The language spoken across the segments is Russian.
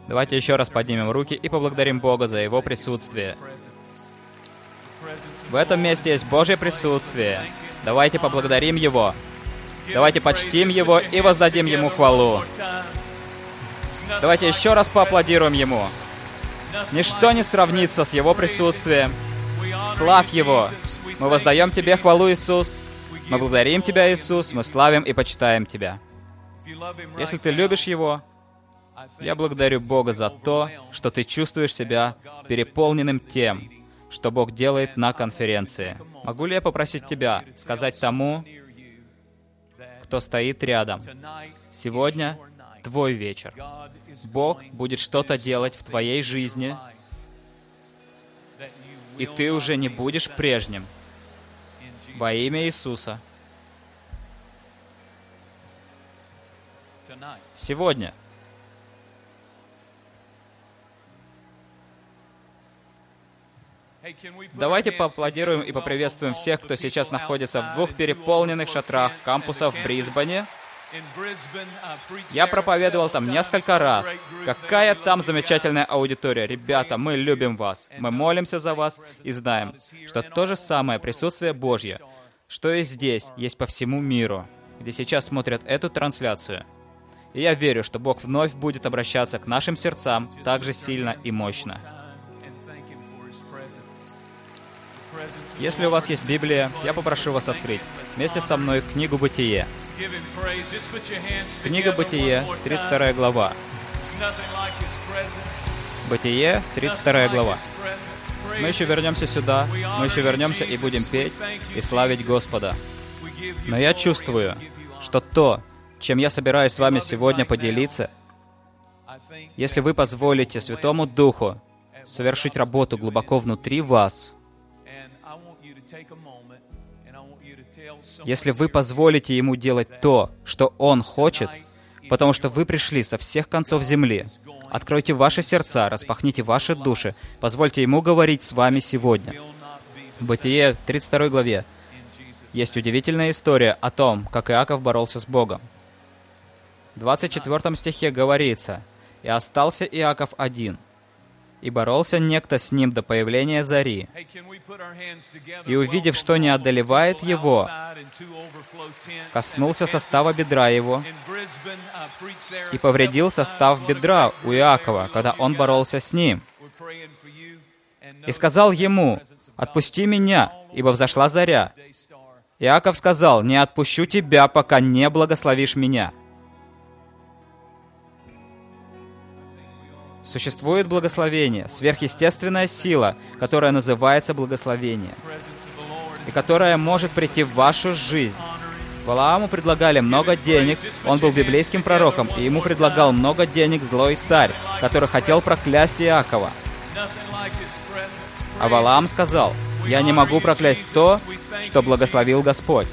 Давайте еще раз поднимем руки и поблагодарим Бога за Его присутствие. В этом месте есть Божье присутствие. Давайте поблагодарим Его. Давайте почтим Его и воздадим Ему хвалу. Давайте еще раз поаплодируем Ему. Ничто не сравнится с Его присутствием. Славь Его. Мы воздаем Тебе хвалу, Иисус. Мы благодарим Тебя, Иисус. Мы славим и почитаем Тебя. Если ты любишь Его, я благодарю Бога за то, что ты чувствуешь себя переполненным тем, что Бог делает на конференции. Могу ли я попросить тебя сказать тому, кто стоит рядом: сегодня твой вечер. Бог будет что-то делать в твоей жизни, и ты уже не будешь прежним. Во имя Иисуса. Сегодня. Давайте поаплодируем и поприветствуем всех, кто сейчас находится в двух переполненных шатрах кампуса в Брисбене. Я проповедовал там несколько раз. Какая там замечательная аудитория. Ребята, мы любим вас. Мы молимся за вас и знаем, что то же самое присутствие Божье, что и здесь, есть по всему миру, где сейчас смотрят эту трансляцию. И я верю, что Бог вновь будет обращаться к нашим сердцам так же сильно и мощно. Если у вас есть Библия, я попрошу вас открыть вместе со мной книгу «Бытие». Книга «Бытие», 32 глава. «Бытие», 32 глава. Мы еще вернемся сюда, мы еще вернемся и будем петь и славить Господа. Но я чувствую, что то, чем я собираюсь с вами сегодня поделиться, если вы позволите Святому Духу совершить работу глубоко внутри вас, если вы позволите Ему делать то, что Он хочет, потому что вы пришли со всех концов земли, откройте ваши сердца, распахните ваши души, позвольте Ему говорить с вами сегодня. В Бытие 32 главе есть удивительная история о том, как Иаков боролся с Богом. В 24 стихе говорится: «И остался Иаков один, и боролся некто с ним до появления зари. И, увидев, что не одолевает его, коснулся состава бедра его и повредил состав бедра у Иакова, когда он боролся с ним. И сказал ему: «Отпусти меня, ибо взошла заря». Иаков сказал: «Не отпущу тебя, пока не благословишь меня». Существует благословение, сверхъестественная сила, которая называется благословение, и которая может прийти в вашу жизнь. Валааму предлагали много денег, он был библейским пророком, и ему предлагал много денег злой царь, который хотел проклясть Иакова. А Валаам сказал: «Я не могу проклясть то, что благословил Господь».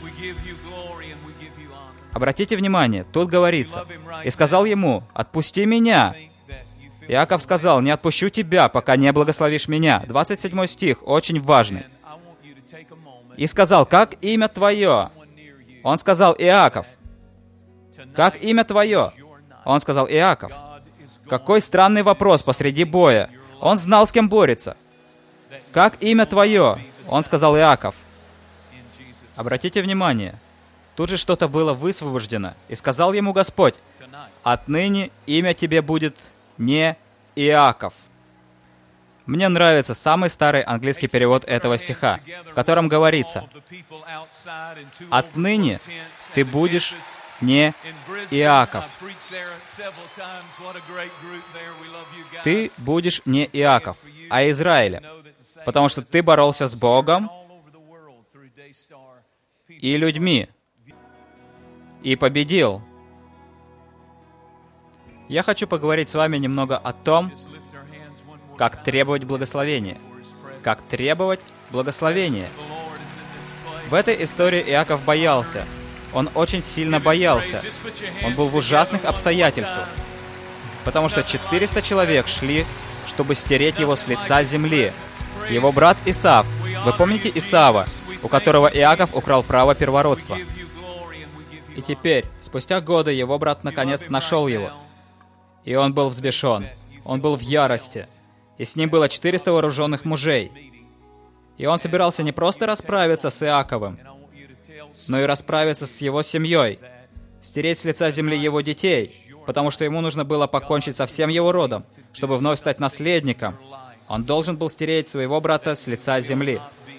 Обратите внимание, тут говорится: «И сказал ему: отпусти меня». Иаков сказал: «Не отпущу тебя, пока не благословишь меня». 27 стих, очень важный. «И сказал: как имя твое?» Он сказал: «Иаков». «Как имя твое?» Он сказал: «Иаков». Какой странный вопрос посреди боя. Он знал, с кем борется. «Как имя твое?» Он сказал: «Иаков». Обратите внимание, тут же что-то было высвобождено. «И сказал ему Господь: отныне имя тебе будет не Иаков». Мне нравится самый старый английский перевод этого стиха, в котором говорится: «Отныне ты будешь не Иаков». Ты будешь не Иаков, а Израиля, потому что ты боролся с Богом и людьми, и победил. Я хочу поговорить с вами немного о том, как требовать благословения. Как требовать благословения. В этой истории Иаков боялся. Он очень сильно боялся. Он был в ужасных обстоятельствах. Потому что 400 человек шли, чтобы стереть его с лица земли. Его брат Исав. Вы помните Исава, у которого Иаков украл право первородства? И теперь, спустя годы, его брат наконец нашел его. И он был взбешен. Он был в ярости. И с ним было 400 вооруженных мужей. И он собирался не просто расправиться с Иаковом, но и расправиться с его семьей, стереть с лица земли его детей, потому что ему нужно было покончить со всем его родом, чтобы вновь стать наследником. Он должен был стереть своего брата с лица земли.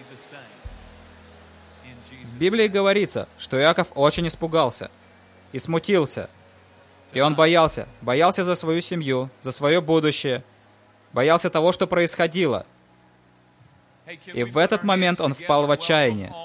В Библии говорится, что Иаков очень испугался и смутился. И он боялся за свою семью, за свое будущее, боялся того, что происходило. И в этот момент он впал в отчаяние.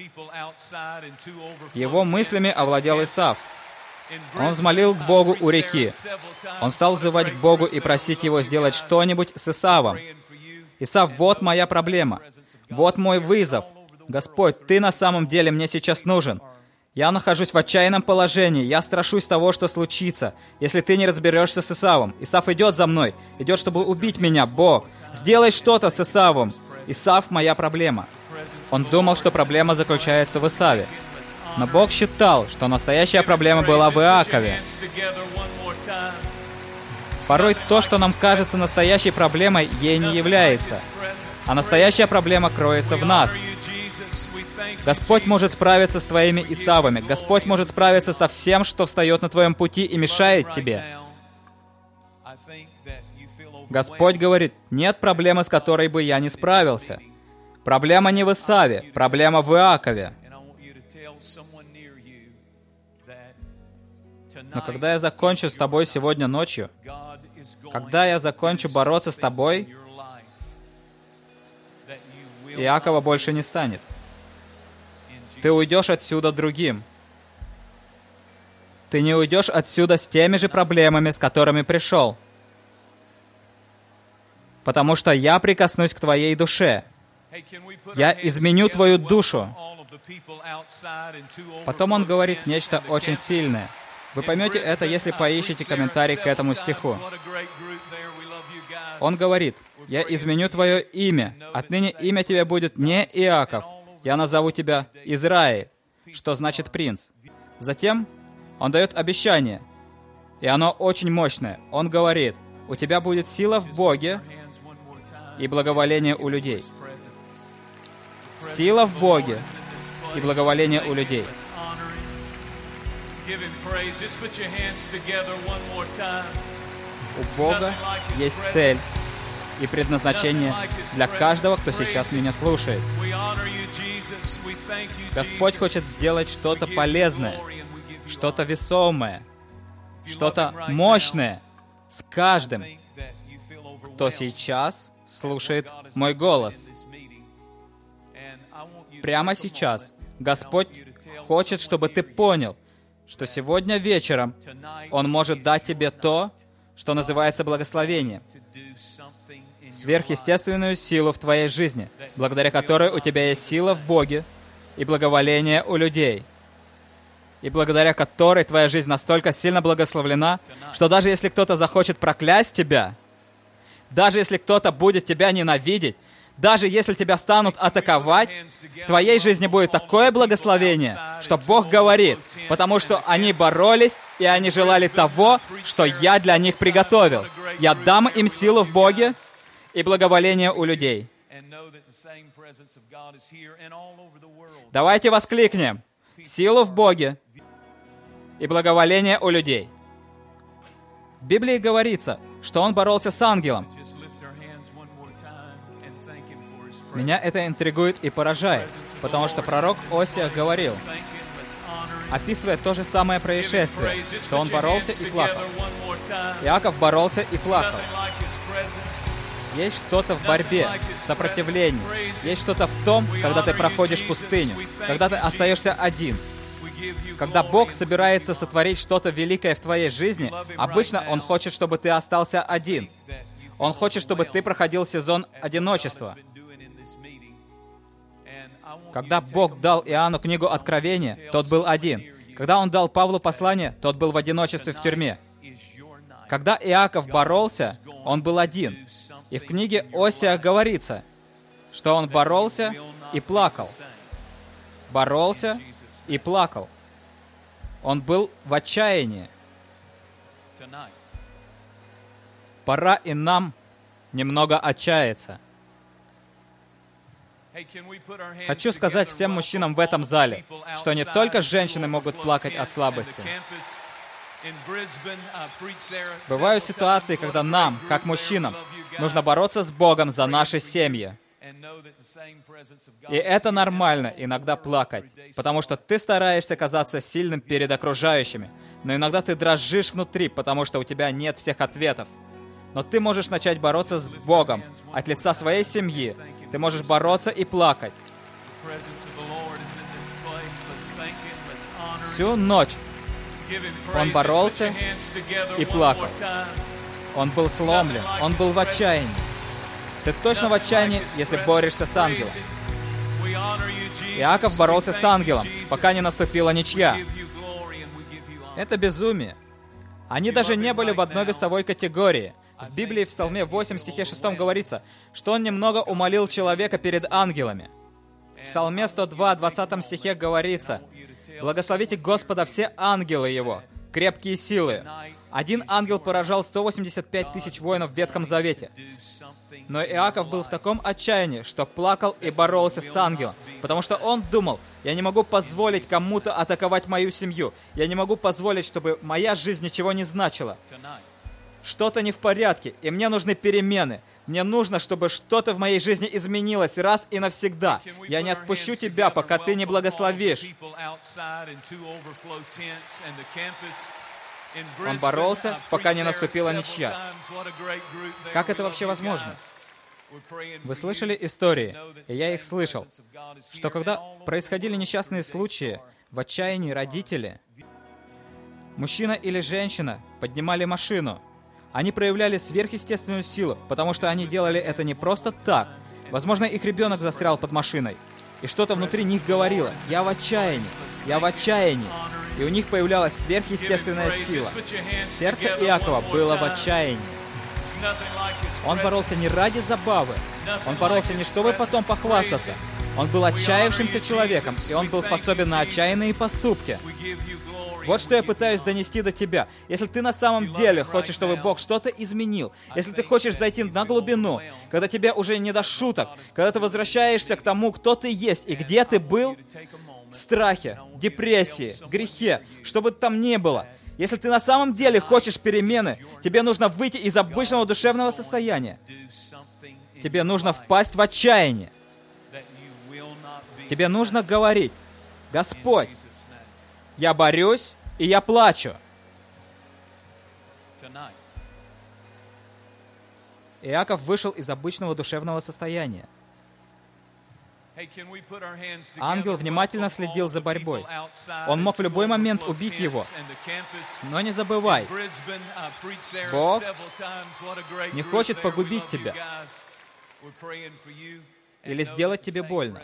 Его мыслями овладел Исав. Он взмолил к Богу у реки. Он стал взывать к Богу и просить Его сделать что-нибудь с Исавом. Исав, вот моя проблема. Вот мой вызов. Господь, Ты на самом деле мне сейчас нужен. Я нахожусь в отчаянном положении. Я страшусь того, что случится, если Ты не разберешься с Исавом. Исав идет за мной. Идет, чтобы убить меня. Бог, сделай что-то с Исавом. Исав — моя проблема. Он думал, что проблема заключается в Исаве. Но Бог считал, что настоящая проблема была в Иакове. Порой то, что нам кажется настоящей проблемой, ей не является. А настоящая проблема кроется в нас. Господь может справиться с твоими Исавами. Господь может справиться со всем, что встает на твоем пути и мешает тебе. Господь говорит, нет проблемы, с которой бы я не справился. Проблема не в Исаве, проблема в Иакове. Но когда я закончу с тобой сегодня ночью, когда я закончу бороться с тобой, Иакова больше не станет. Ты уйдешь отсюда другим. Ты не уйдешь отсюда с теми же проблемами, с которыми пришел. Потому что я прикоснусь к твоей душе. Я изменю твою душу. Потом он говорит нечто очень сильное. Вы поймете это, если поищете комментарий к этому стиху. Он говорит, «Я изменю твое имя. Отныне имя тебе будет не Иаков. Я назову тебя Израиль», что значит «принц». Затем он дает обещание, и оно очень мощное. Он говорит, «У тебя будет сила в Боге и благоволение у людей». Сила в Боге и благоволение у людей. У Бога есть цель и предназначение для каждого, кто сейчас меня слушает. Господь хочет сделать что-то полезное, что-то весомое, что-то мощное с каждым, кто сейчас слушает мой голос. Прямо сейчас Господь хочет, чтобы ты понял, что сегодня вечером Он может дать тебе то, что называется благословением, сверхъестественную силу в твоей жизни, благодаря которой у тебя есть сила в Боге и благоволение у людей, и благодаря которой твоя жизнь настолько сильно благословлена, что даже если кто-то захочет проклясть тебя, даже если кто-то будет тебя ненавидеть, даже если тебя станут атаковать, в твоей жизни будет такое благословение, что Бог говорит, потому что они боролись, и они желали того, что я для них приготовил. Я дам им силу в Боге и благоволение у людей. Давайте воскликнем. Силу в Боге и благоволение у людей. В Библии говорится, что он боролся с ангелом. Меня это интригует и поражает, потому что пророк Осия говорил, описывая то же самое происшествие, что он боролся и плакал. Иаков боролся и плакал. Есть что-то в борьбе, в сопротивлении. Есть что-то в том, когда ты проходишь пустыню, когда ты остаешься один. Когда Бог собирается сотворить что-то великое в твоей жизни, обычно Он хочет, чтобы ты остался один. Он хочет, чтобы ты проходил сезон одиночества. Когда Бог дал Иоанну книгу Откровения, тот был один. Когда Он дал Павлу послание, тот был в одиночестве в тюрьме. Когда Иаков боролся, он был один. И в книге Осия говорится, что он боролся и плакал. Боролся и плакал. Он был в отчаянии. Пора и нам немного отчаяться. Хочу сказать всем мужчинам в этом зале, что не только женщины могут плакать от слабости. Бывают ситуации, когда нам, как мужчинам, нужно бороться с Богом за наши семьи. И это нормально иногда плакать, потому что ты стараешься казаться сильным перед окружающими, но иногда ты дрожишь внутри, потому что у тебя нет всех ответов. Но ты можешь начать бороться с Богом от лица своей семьи. Ты можешь бороться и плакать. Всю ночь он боролся и плакал. Он был сломлен, он был в отчаянии. Ты точно в отчаянии, если борешься с ангелом. Иаков боролся с ангелом, пока не наступила ничья. Это безумие. Они даже не были в одной весовой категории. В Библии в Псалме 8, стихе 6 говорится, что он немного умолил человека перед ангелами. В Псалме 102, 20 стихе говорится, «Благословите Господа все ангелы Его, крепкие силы». Один ангел поражал 185 тысяч воинов в Ветхом Завете. Но Иаков был в таком отчаянии, что плакал и боролся с ангелом, потому что он думал, я не могу позволить кому-то атаковать мою семью, я не могу позволить, чтобы моя жизнь ничего не значила. Что-то не в порядке, и мне нужны перемены. Мне нужно, чтобы что-то в моей жизни изменилось раз и навсегда. Я не отпущу тебя, пока ты не благословишь. Он боролся, пока не наступила ничья. Как это вообще возможно? Вы слышали истории, и я их слышал, что когда происходили несчастные случаи, в отчаянии родители, мужчина или женщина поднимали машину. Они проявляли сверхъестественную силу, потому что они делали это не просто так. Возможно, их ребенок застрял под машиной, и что-то внутри них говорило: «Я в отчаянии, я в отчаянии». И у них появлялась сверхъестественная сила. Сердце Иакова было в отчаянии. Он боролся не ради забавы. Он боролся не чтобы потом похвастаться. Он был отчаявшимся человеком, и он был способен на отчаянные поступки. Вот что я пытаюсь донести до тебя. Если ты на самом деле хочешь, чтобы Бог что-то изменил, если ты хочешь зайти на глубину, когда тебе уже не до шуток, когда ты возвращаешься к тому, кто ты есть и где ты был, в страхе, депрессии, грехе, что бы там ни было, если ты на самом деле хочешь перемены, тебе нужно выйти из обычного душевного состояния. Тебе нужно впасть в отчаяние. Тебе нужно говорить: «Господь, я борюсь, и я плачу». Иаков вышел из обычного душевного состояния. Ангел внимательно следил за борьбой. Он мог в любой момент убить его. Но не забывай, Бог не хочет погубить тебя или сделать тебе больно.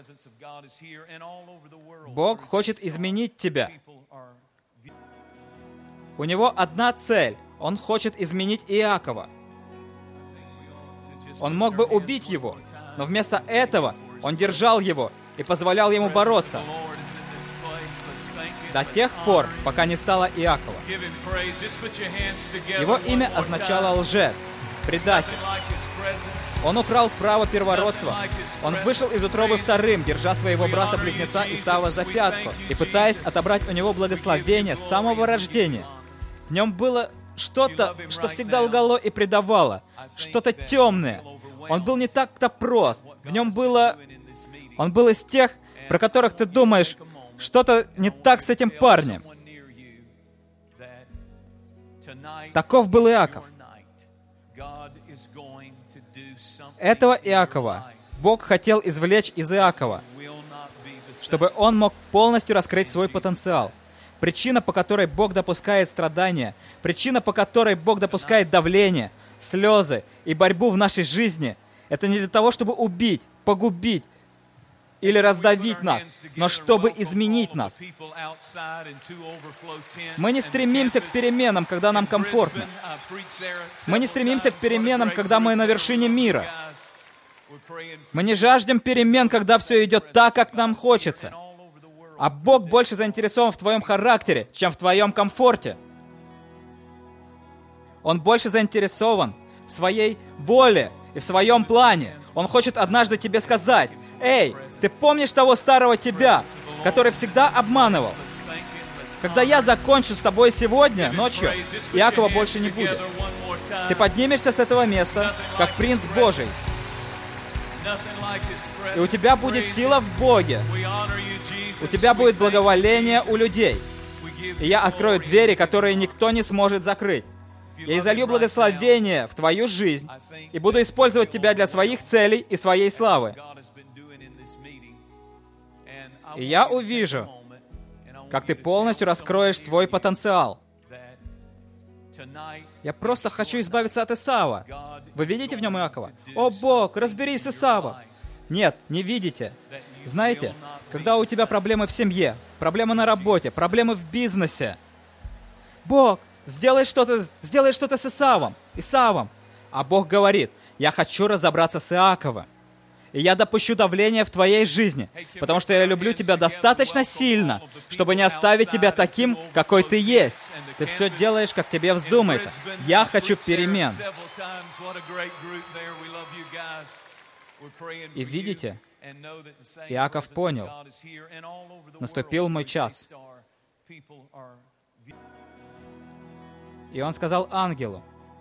Бог хочет изменить тебя. У него одна цель. Он хочет изменить Иакова. Он мог бы убить его, но вместо этого он держал его и позволял ему бороться до тех пор, пока не стало Иакова. Его имя означало лжец, предатель. Он украл право первородства. Он вышел из утробы вторым, держа своего брата-близнеца Исава за пятку и пытаясь отобрать у него благословение с самого рождения. В нем было что-то, что всегда лгало и предавало, что-то темное. Он был не так-то прост. В нем было... Он был из тех, про которых ты думаешь, что-то не так с этим парнем. Таков был Иаков. Этого Иакова Бог хотел извлечь из Иакова, чтобы он мог полностью раскрыть свой потенциал. Причина, по которой Бог допускает страдания, причина, по которой Бог допускает давление, слезы и борьбу в нашей жизни, это не для того, чтобы убить, погубить или раздавить нас, но чтобы изменить нас. Мы не стремимся к переменам, когда нам комфортно. Мы не стремимся к переменам, когда мы на вершине мира. Мы не жаждем перемен, когда все идет так, как нам хочется. А Бог больше заинтересован в твоем характере, чем в твоем комфорте. Он больше заинтересован, в своей воле и в своем плане. Он хочет однажды тебе сказать: «Эй, ты помнишь того старого тебя, который всегда обманывал? Когда я закончу с тобой сегодня, ночью, Иакова больше не будет. Ты поднимешься с этого места, как принц Божий. И у тебя будет сила в Боге. У тебя будет благоволение у людей. И я открою двери, которые никто не сможет закрыть. Я изолью благословение в твою жизнь и буду использовать тебя для своих целей и своей славы. И я увижу, как ты полностью раскроешь свой потенциал. Я просто хочу избавиться от Исава. Вы видите в нем Иакова? О, Бог, разберись с Исава. Нет, не видите. Знаете, когда у тебя проблемы в семье, проблемы на работе, проблемы в бизнесе, Бог, сделай что-то с Исавом. А Бог говорит: я хочу разобраться с Иаковом. И я допущу давление в твоей жизни, потому что я люблю тебя достаточно сильно, чтобы не оставить тебя таким, какой ты есть. Ты все делаешь, как тебе вздумается. Я хочу перемен. И видите, Иаков понял: наступил мой час. И он сказал ангелу: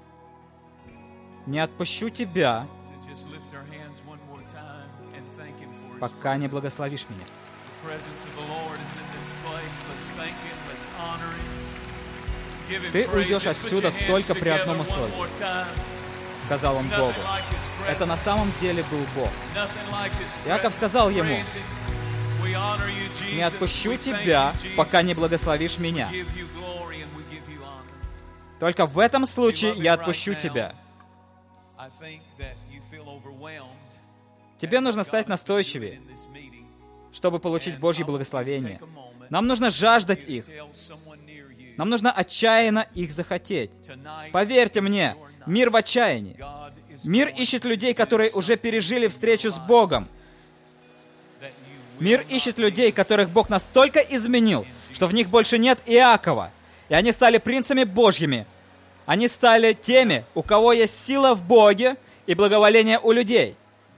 не отпущу тебя, пока не благословишь меня. Ты уйдешь отсюда только при одном условии, сказал он Богу. Это на самом деле был Бог. Иаков сказал ему: не отпущу тебя, пока не благословишь меня. Только в этом случае я отпущу тебя. Тебе нужно стать настойчивее, чтобы получить Божье благословение. Нам нужно жаждать их. Нам нужно отчаянно их захотеть. Поверьте мне, мир в отчаянии. Мир ищет людей, которые уже пережили встречу с Богом. Мир ищет людей, которых Бог настолько изменил, что в них больше нет Иакова. И они стали принцами Божьими. Они стали теми, у кого есть сила в Боге и благоволение у людей.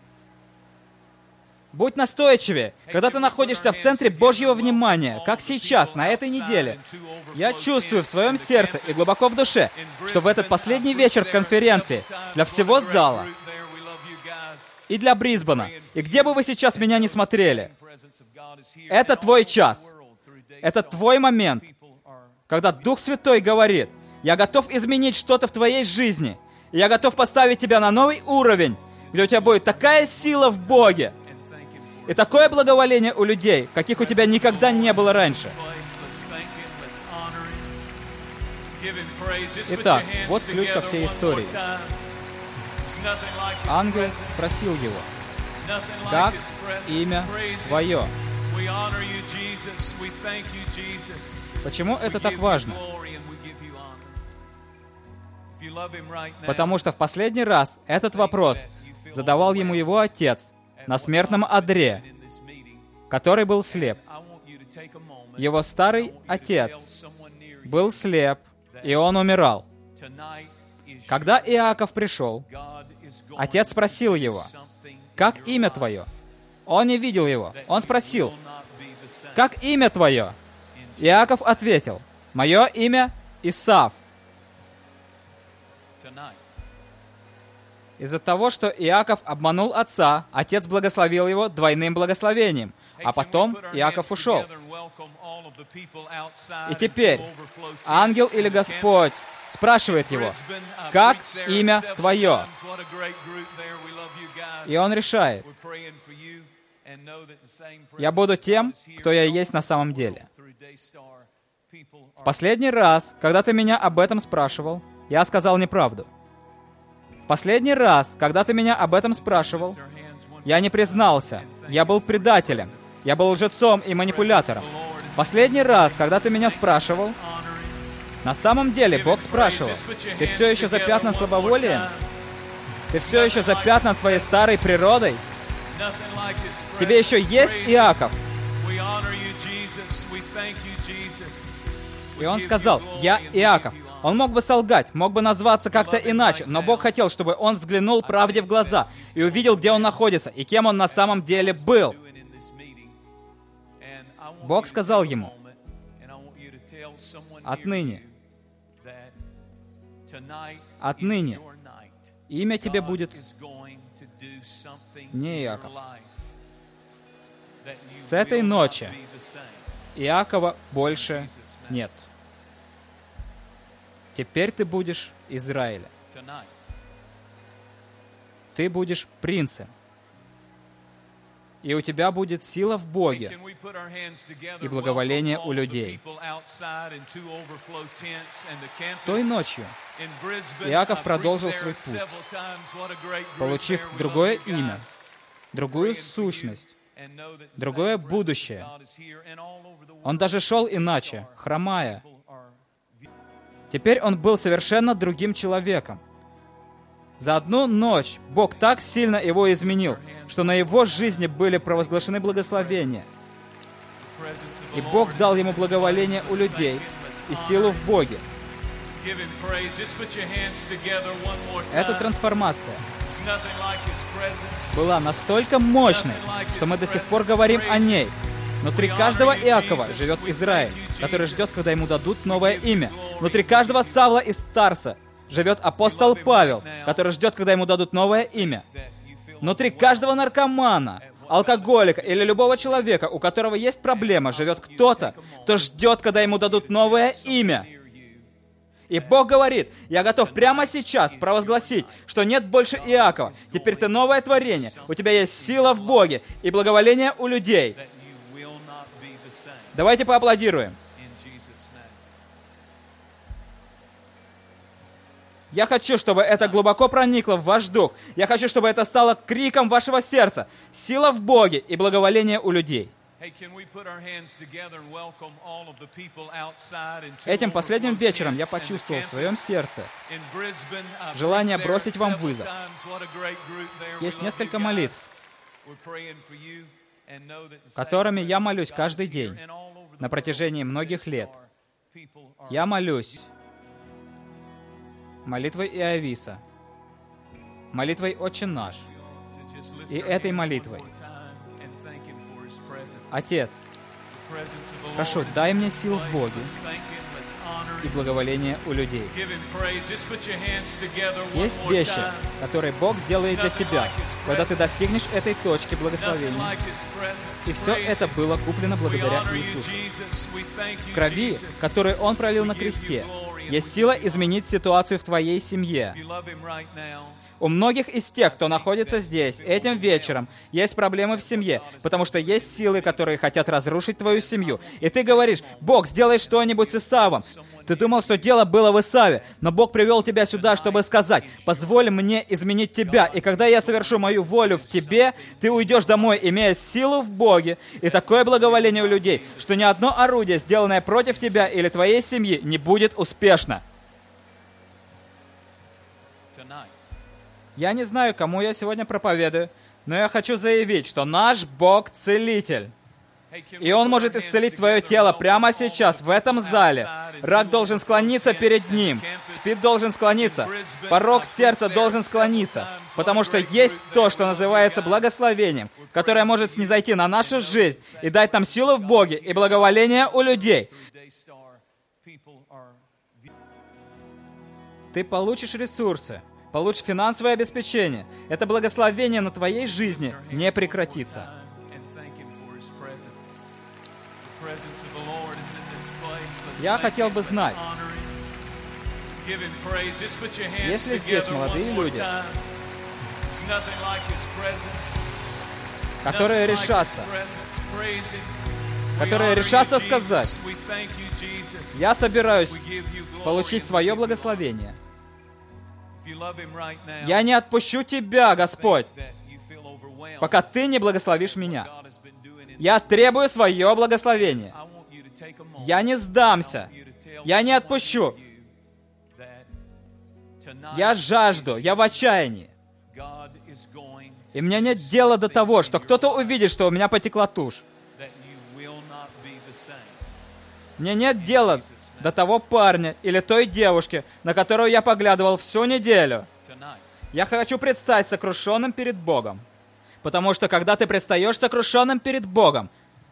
Будь настойчивее, когда ты находишься в центре Божьего внимания, как сейчас, на этой неделе. Я чувствую в своем сердце и глубоко в душе, что в этот последний вечер конференции для всего зала и для Брисбена, и где бы вы сейчас меня не смотрели, это твой час, это твой момент, когда Дух Святой говорит: я готов изменить что-то в твоей жизни, и я готов поставить тебя на новый уровень, где у тебя будет такая сила в Боге, и такое благоволение у людей, каких у тебя никогда не было раньше. Итак, вот ключ ко всей истории. Ангел спросил его: как имя твое? Почему это так важно? Потому что в последний раз этот вопрос задавал ему его отец на смертном одре, который был слеп. Его старый отец был слеп, и он умирал. Когда Иаков пришел, отец спросил его: как имя твое? Он не видел его. Он спросил: как имя твое? Иаков ответил: мое имя Исав. Из-за того, что Иаков обманул отца, отец благословил его двойным благословением, а потом Иаков ушел. И теперь ангел или Господь спрашивает его: как имя твое? И он решает: я буду тем, кто я есть на самом деле. В последний раз, когда ты меня об этом спрашивал, я сказал неправду. В последний раз, когда ты меня об этом спрашивал, я не признался. Я был предателем. Я был лжецом и манипулятором. В последний раз, когда ты меня спрашивал, на самом деле Бог спрашивал: ты все еще запятнан слабоволием? Ты все еще запятнан своей старой природой? Тебе еще есть Иаков? И он сказал: я Иаков. Он мог бы солгать, мог бы назваться как-то иначе, но Бог хотел, чтобы он взглянул правде в глаза и увидел, где он находится и кем он на самом деле был. Бог сказал ему: отныне имя тебе будет не Иаков. С этой ночи Иакова больше нет. Теперь ты будешь Израиля. Ты будешь принцем. И у тебя будет сила в Боге и благоволение у людей. Той ночью Иаков продолжил свой путь, получив другое имя, другую сущность, другое будущее. Он даже шел иначе, хромая. Теперь он был совершенно другим человеком. За одну ночь Бог так сильно его изменил, что на его жизни были провозглашены благословения. И Бог дал ему благоволение у людей и силу в Боге. Эта трансформация была настолько мощной, что мы до сих пор говорим о ней. Внутри каждого Иакова живет Израиль, который ждет, когда ему дадут новое имя. Внутри каждого Савла из Тарса живет апостол Павел, который ждет, когда ему дадут новое имя. Внутри каждого наркомана, алкоголика или любого человека, у которого есть проблема, живет кто-то, кто ждет, когда ему дадут новое имя. И Бог говорит: я готов прямо сейчас провозгласить, что нет больше Иакова. Теперь ты новое творение. У тебя есть сила в Боге и благоволение у людей. Давайте поаплодируем. Я хочу, чтобы это глубоко проникло в ваш дух. Я хочу, чтобы это стало криком вашего сердца. Сила в Боге и благоволение у людей. Этим последним вечером я почувствовал в своем сердце желание бросить вам вызов. Есть несколько молитв, которыми я молюсь каждый день на протяжении многих лет. Я молюсь молитвой Иовиса, молитвой «Отче наш» и этой молитвой: Отец, прошу, дай мне сил в Боге и благоволение у людей. Есть вещи, которые Бог сделает для тебя, когда ты достигнешь этой точки благословения. И все это было куплено благодаря Иисусу. В крови, которую Он пролил на кресте, есть сила изменить ситуацию в твоей семье. У многих из тех, кто находится здесь, этим вечером, есть проблемы в семье, потому что есть силы, которые хотят разрушить твою семью. И ты говоришь: Бог, сделай что-нибудь с Исавом. Ты думал, что дело было в Исаве, но Бог привел тебя сюда, чтобы сказать: позволь мне изменить тебя, и когда я совершу мою волю в тебе, ты уйдешь домой, имея силу в Боге и такое благоволение у людей, что ни одно орудие, сделанное против тебя или твоей семьи, не будет успешно. Я не знаю, кому я сегодня проповедую, но я хочу заявить, что наш Бог — целитель. И Он может исцелить твое тело прямо сейчас, в этом зале. Рак должен склониться перед Ним. СПИД должен склониться. Порок сердца должен склониться. Потому что есть то, что называется благословением, которое может снизойти на нашу жизнь и дать нам силу в Боге и благоволение у людей. Ты получишь ресурсы, получишь финансовое обеспечение. Это благословение на твоей жизни не прекратится. Я хотел бы знать, если здесь молодые люди, которые решатся сказать: я собираюсь получить свое благословение. Я не отпущу тебя, Господь, пока ты не благословишь меня. Я требую свое благословение. Я не сдамся. Я не отпущу. Я жажду. Я в отчаянии. И мне нет дела до того, что кто-то увидит, что у меня потекла тушь. Мне нет дела до того парня или той девушки, на которую я поглядывал всю неделю. Я хочу предстать сокрушенным перед Богом. Потому что когда ты предстаешь сокрушенным перед Богом,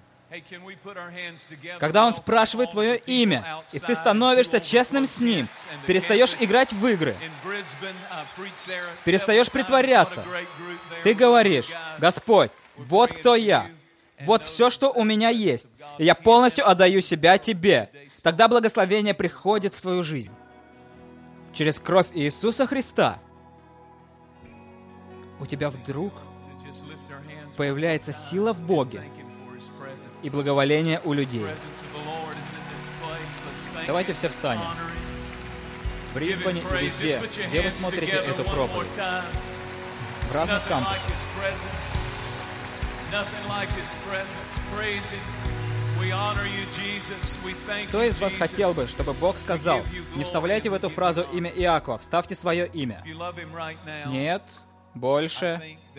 когда Он спрашивает твое имя, и ты становишься честным с Ним, перестаешь играть в игры, перестаешь притворяться, ты говоришь: Господь, вот кто я, вот все, что у меня есть, и я полностью отдаю себя Тебе. Тогда благословение приходит в твою жизнь. Через кровь Иисуса Христа у тебя вдруг появляется сила в Боге и благоволение у людей. Давайте все встанем. В Брисбене и везде, где вы смотрите эту проповедь, в разных кампусах. Кто из вас хотел бы, чтобы Бог сказал: не вставляйте в эту фразу имя Иакова, вставьте свое имя? Нет? Больше?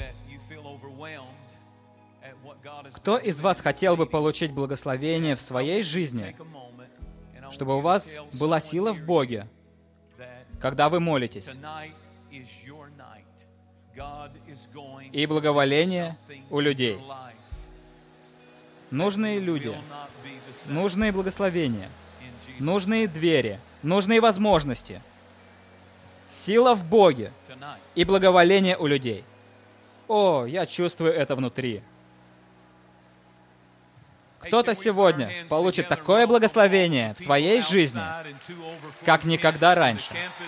Кто из вас хотел бы получить благословение в своей жизни, чтобы у вас была сила в Боге, когда вы молитесь, и благоволение у людей? Нужные люди, нужные благословения, нужные двери, нужные возможности, сила в Боге и благоволение у людей. О, я чувствую это внутри. Кто-то сегодня получит такое благословение в своей жизни, как никогда раньше.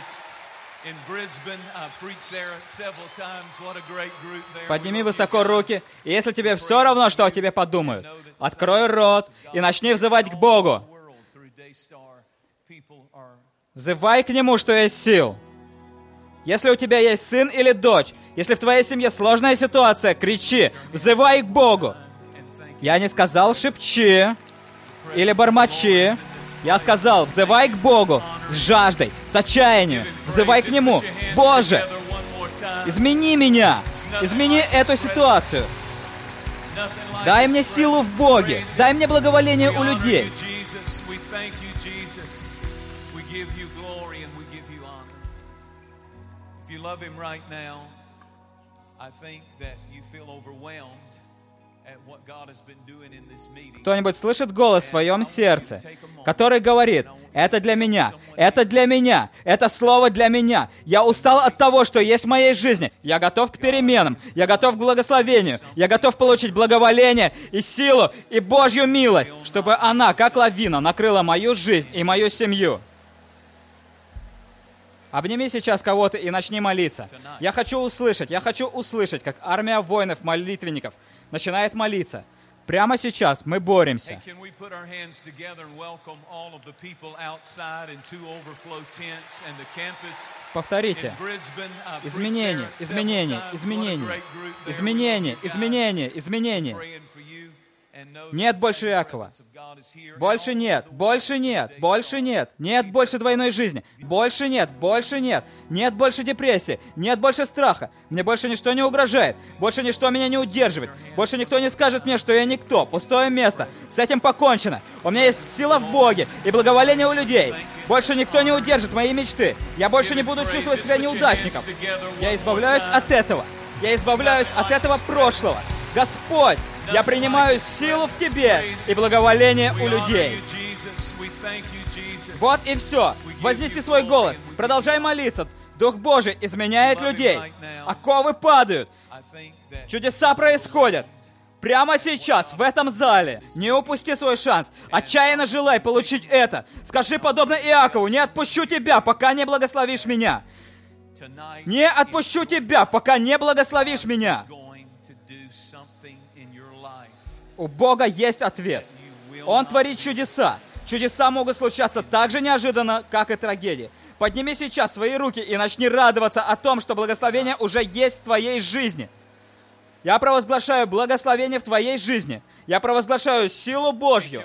Подними высоко руки, и если тебе все равно, что о тебе подумают, открой рот и начни взывать к Богу. Взывай к Нему, что есть сил. Если у тебя есть сын или дочь, если в твоей семье сложная ситуация, кричи, взывай к Богу. Я не сказал шепчи или бормочи. Я сказал, взывай к Богу с жаждой, с отчаянием. Взывай к Нему. Боже, измени меня. Измени эту ситуацию. Дай мне силу в Боге. Дай мне благоволение у людей. Кто-нибудь слышит голос в своем сердце, который говорит: это для меня, это для меня, это слово для меня. Я устал от того, что есть в моей жизни. Я готов к переменам, я готов к благословению, я готов получить благоволение и силу, и Божью милость, чтобы она, как лавина, накрыла мою жизнь и мою семью. Обними сейчас кого-то и начни молиться. Я хочу услышать, как армия воинов-молитвенников начинает молиться. Прямо сейчас мы боремся. Повторите. Изменение, изменение, изменение. Изменение, изменение, изменение. Нет больше Иакова. Больше нет, больше нет, больше нет. Нет больше двойной жизни. Больше нет, больше нет. Нет больше депрессии, нет больше страха. Мне больше ничто не угрожает. Больше ничто меня не удерживает. Больше никто не скажет мне, что я никто. Пустое место. С этим покончено. У меня есть сила в Боге и благоволение у людей. Больше никто не удержит мои мечты. Я больше не буду чувствовать себя неудачником. Я избавляюсь от этого. Я избавляюсь от этого прошлого. Господь, я принимаю силу в Тебе и благоволение у людей. Вот и все. Вознеси свой голос. Продолжай молиться. Дух Божий изменяет людей. Оковы падают. Чудеса происходят. Прямо сейчас, в этом зале. Не упусти свой шанс. Отчаянно желай получить это. Скажи, подобно Иакову: не отпущу тебя, пока не благословишь меня. Не отпущу тебя, пока не благословишь меня. У Бога есть ответ. Он творит чудеса. Чудеса могут случаться так же неожиданно, как и трагедии. Подними сейчас свои руки и начни радоваться о том, что благословение уже есть в твоей жизни. Я провозглашаю благословение в твоей жизни. Я провозглашаю силу Божью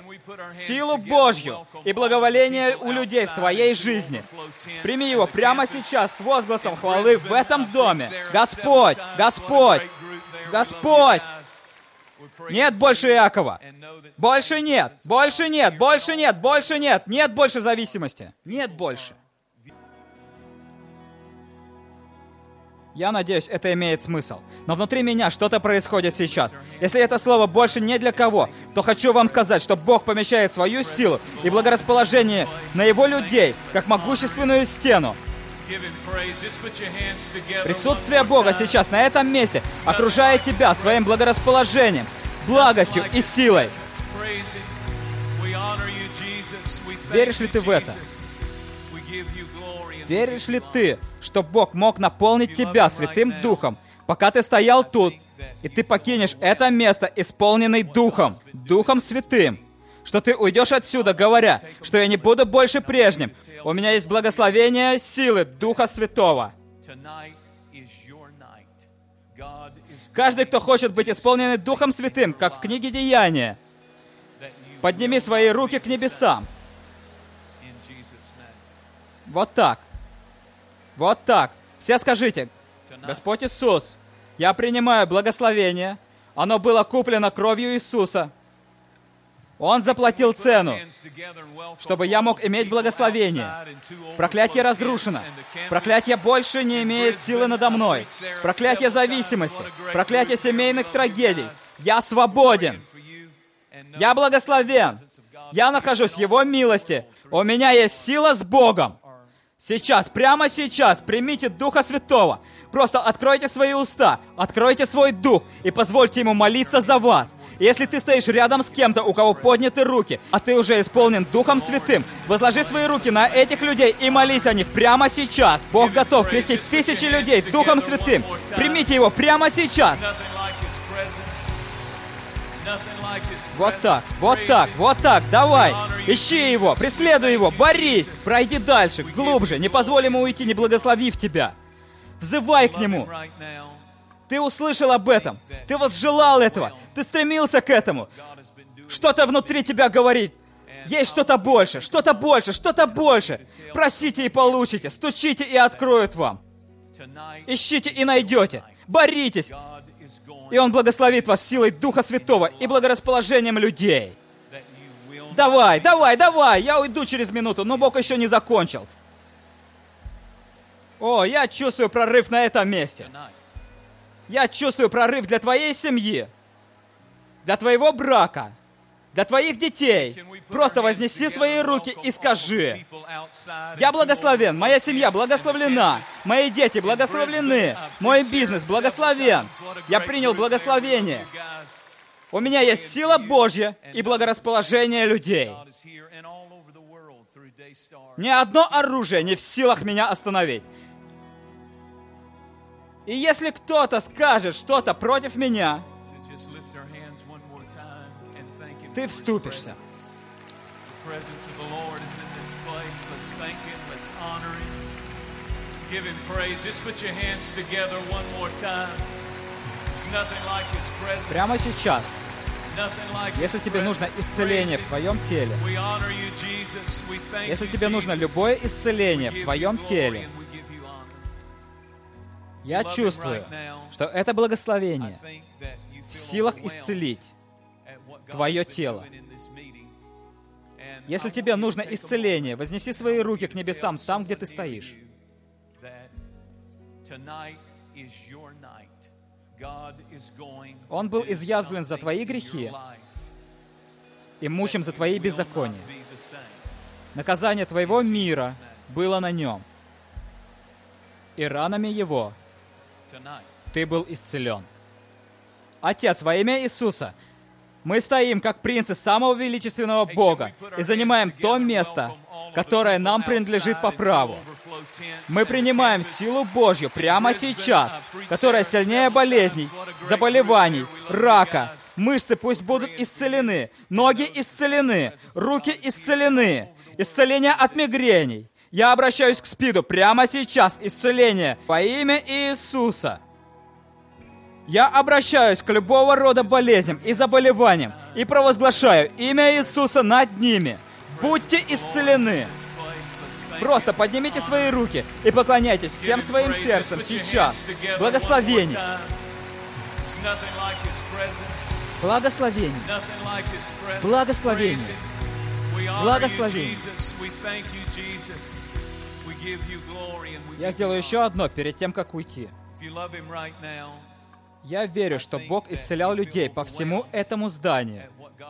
и благоволение у людей в твоей жизни. Прими его прямо сейчас с возгласом хвалы в этом доме. Господь, Господь, Господь, Нет больше Иакова. Больше нет. Больше нет. Больше нет. Больше нет. Нет больше зависимости. Нет больше. Я надеюсь, это имеет смысл. Но внутри меня что-то происходит сейчас. Если это слово больше не для кого, то хочу вам сказать, что Бог помещает свою силу и благорасположение на Его людей, как могущественную стену. Присутствие Бога сейчас на этом месте окружает тебя своим благорасположением, благостью и силой. Веришь ли ты в это? Веришь ли ты, что Бог мог наполнить тебя Святым Духом, пока ты стоял тут, и ты покинешь это место, исполненный Духом, Духом Святым? Что ты уйдешь отсюда, говоря, что я не буду больше прежним. У меня есть благословение силы Духа Святого. Каждый, кто хочет быть исполненным Духом Святым, как в книге Деяния, подними свои руки к небесам. Вот так. Вот так. Все скажите: Господь Иисус, я принимаю благословение. Оно было куплено кровью Иисуса. Он заплатил цену, чтобы я мог иметь благословение. Проклятие разрушено. Проклятие больше не имеет силы надо мной. Проклятие зависимости. Проклятие семейных трагедий. Я свободен. Я благословен. Я нахожусь в Его милости. У меня есть сила с Богом. Сейчас, прямо сейчас, примите Духа Святого. Просто откройте свои уста, откройте свой дух и позвольте Ему молиться за вас. И если ты стоишь рядом с кем-то, у кого подняты руки, а ты уже исполнен Духом Святым, возложи свои руки на этих людей и молись о них прямо сейчас. Бог готов крестить тысячи людей Духом Святым. Примите Его прямо сейчас. Вот так, вот так, вот так, давай. Ищи Его, преследуй Его, борись. Пройди дальше, глубже, не позволь Ему уйти, не благословив тебя. Взывай к Нему. Ты услышал об этом, ты возжелал этого, ты стремился к этому. Что-то внутри тебя говорит: есть что-то больше, что-то больше, что-то больше. Просите и получите, стучите и откроют вам. Ищите и найдете, боритесь. И Он благословит вас силой Духа Святого и благорасположением людей. Давай, давай, давай, я уйду через минуту, но Бог еще не закончил. О, я чувствую прорыв на этом месте. Я чувствую прорыв для твоей семьи, для твоего брака, для твоих детей. Просто вознеси свои руки и скажи: я благословен, моя семья благословлена, мои дети благословлены, мой бизнес благословен. Я принял благословение. У меня есть сила Божья и благорасположение людей. Ни одно оружие не в силах меня остановить. И если кто-то скажет что-то против меня, ты вступишься. Прямо сейчас, если тебе нужно исцеление в твоем теле, если тебе нужно любое исцеление в твоем теле, я чувствую, что это благословение в силах исцелить твое тело. Если тебе нужно исцеление, вознеси свои руки к небесам там, где ты стоишь. Он был изъязвлен за твои грехи и мучим за твои беззакония. Наказание твоего мира было на нем, и ранами Его ты был исцелен. Отец, во имя Иисуса, мы стоим как принцы самого величественного Бога и занимаем то место, которое нам принадлежит по праву. Мы принимаем силу Божью прямо сейчас, которая сильнее болезней, заболеваний, рака. Мышцы пусть будут исцелены, ноги исцелены, руки исцелены, исцеление от мигрений. Я обращаюсь к СПИДу прямо сейчас, исцеление во имя Иисуса. Я обращаюсь к любого рода болезням и заболеваниям и провозглашаю имя Иисуса над ними. Будьте исцелены. Просто поднимите свои руки и поклоняйтесь всем своим сердцем сейчас. Благословение. Благословение. Благословение. Благословение. Я сделаю еще одно перед тем, как уйти. Я верю, что Бог исцелял людей по всему этому зданию.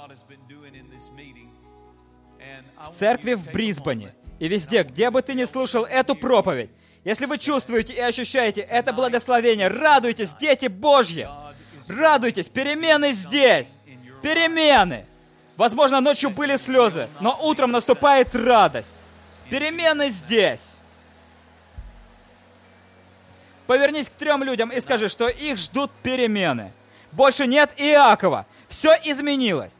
В церкви в Брисбене и везде, где бы ты ни слушал эту проповедь, если вы чувствуете и ощущаете это благословение, радуйтесь, дети Божьи! Радуйтесь, перемены здесь! Перемены! Возможно, ночью были слезы, но утром наступает радость. Перемены здесь! Повернись к 3 людям и скажи, что их ждут перемены. Больше нет Иакова. Все изменилось.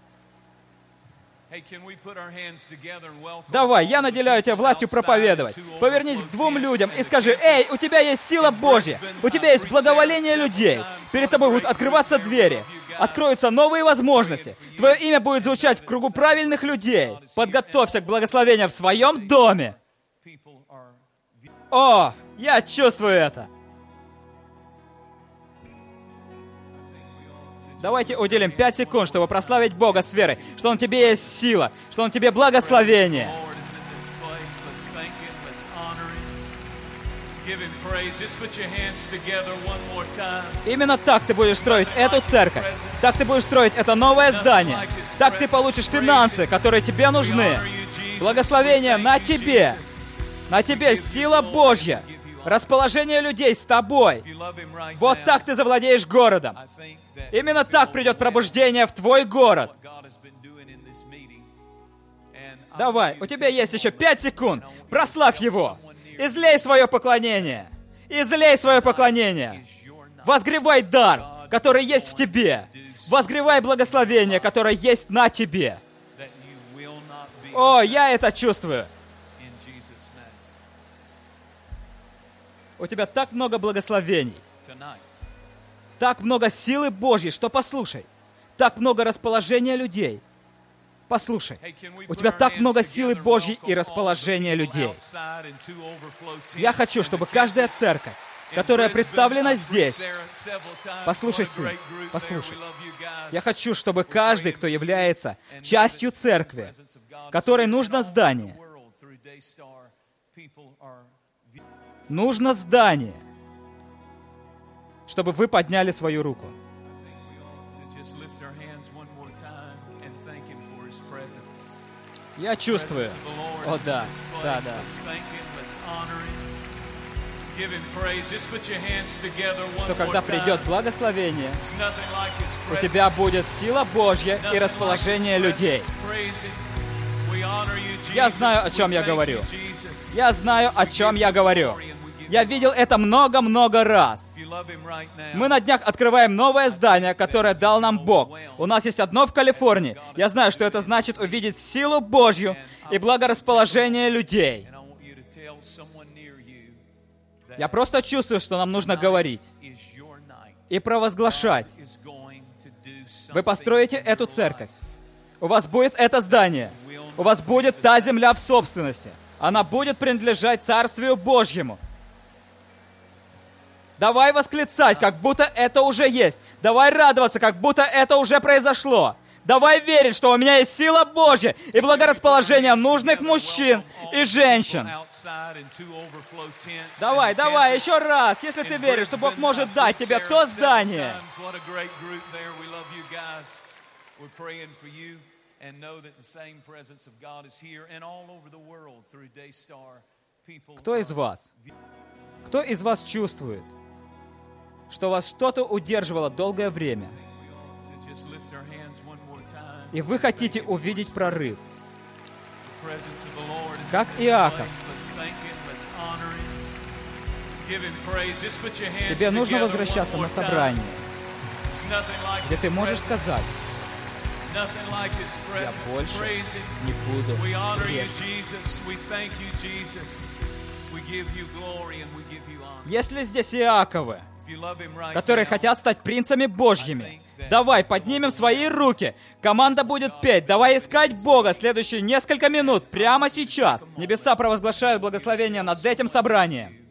Давай, я наделяю тебя властью проповедовать. Повернись к 2 людям и скажи: «Эй, у тебя есть сила Божья, у тебя есть благоволение людей. Перед тобой будут открываться двери, откроются новые возможности. Твое имя будет звучать в кругу правильных людей. Подготовься к благословению в своем доме». О, я чувствую это. Давайте уделим 5 секунд, чтобы прославить Бога с верой, что Он тебе есть сила, что Он тебе благословение. Именно так ты будешь строить эту церковь. Так ты будешь строить это новое здание. Так ты получишь финансы, которые тебе нужны. Благословение на тебе. На тебе сила Божья. Расположение людей с тобой. Вот так ты завладеешь городом. Именно так придет пробуждение в твой город. Давай, у тебя есть еще 5 секунд. Прославь Его. Излей свое поклонение. Излей свое поклонение. Возгревай дар, который есть в тебе. Возгревай благословение, которое есть на тебе. О, я это чувствую. У тебя так много благословений. Так много силы Божьей, что послушай. Так много расположения людей. Послушай. У тебя так много силы Божьей и расположения людей. Я хочу, чтобы каждая церковь, которая представлена здесь... Послушай, сын, послушай. Я хочу, чтобы каждый, кто является частью церкви, которой нужно здание, нужно здание, чтобы вы подняли свою руку. Я чувствую. О, да, да, да. Что когда придет благословение, у тебя будет сила Божья и расположение людей. Я знаю, о чем я говорю. Я знаю, о чем я говорю. Я видел это много-много раз. Мы на днях открываем новое здание, которое дал нам Бог. У нас есть одно в Калифорнии. Я знаю, что это значит увидеть силу Божью и благорасположение людей. Я просто чувствую, что нам нужно говорить и провозглашать. Вы построите эту церковь. У вас будет это здание. У вас будет та земля в собственности. Она будет принадлежать Царствию Божьему. Давай восклицать, как будто это уже есть. Давай радоваться, как будто это уже произошло. Давай верить, что у меня есть сила Божья и благорасположение нужных мужчин и женщин. Давай, давай, еще раз, если ты веришь, что Бог может дать тебе то здание. Кто из вас? Кто из вас чувствует, что вас что-то удерживало долгое время, и вы хотите увидеть прорыв? Как Иаков. Тебе нужно возвращаться на собрание, где ты можешь сказать: я больше не буду грешить. Если здесь Иаковы, которые хотят стать принцами Божьими, давай поднимем свои руки. Команда будет петь. Давай искать Бога следующие несколько минут, прямо сейчас. Небеса провозглашают благословение над этим собранием.